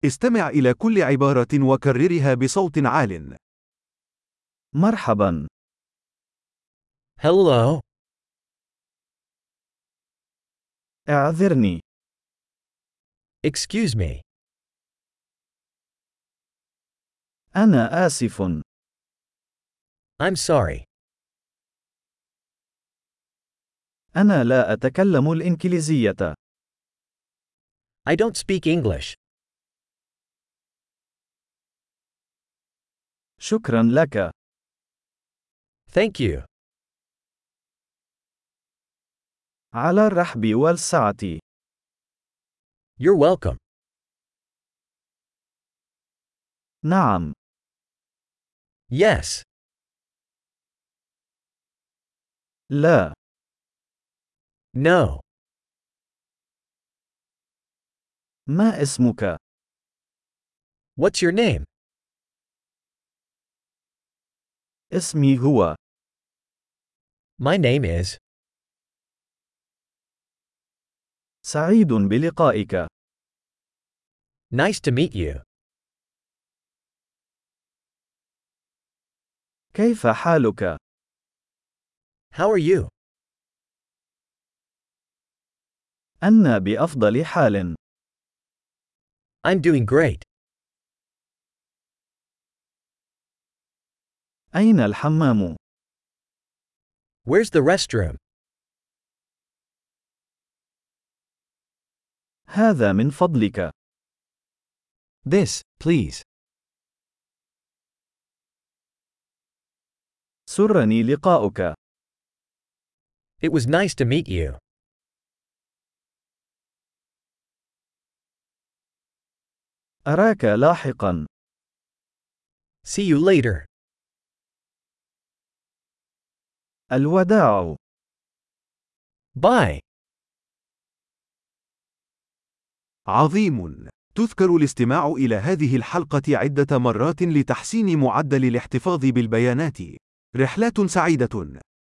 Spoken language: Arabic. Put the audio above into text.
استمع إلى كل عبارة وكررها بصوت عال. مرحبا. Hello. اعذرني. Excuse me. أنا آسف. I'm sorry. أنا لا أتكلم الإنجليزية. I don't speak English. شكرا لك. Thank you. على الرحب والسعة. You're welcome. نعم. Yes. لا. No. ما اسمك؟ What's your name? اسمي هو. My name is. سعيد بلقائك. Nice to meet you. كيف حالك؟ How are you? أنا بأفضل حال. I'm doing great. أين الحمام؟ Where's the restroom? هذا من فضلك. This, please. سرني لقاؤك. It was nice to meet you. أراك لاحقا. See you later. الوداع. Bye. عظيم. تذكر الاستماع إلى هذه الحلقة عدة مرات لتحسين معدل الاحتفاظ بالبيانات. رحلات سعيدة.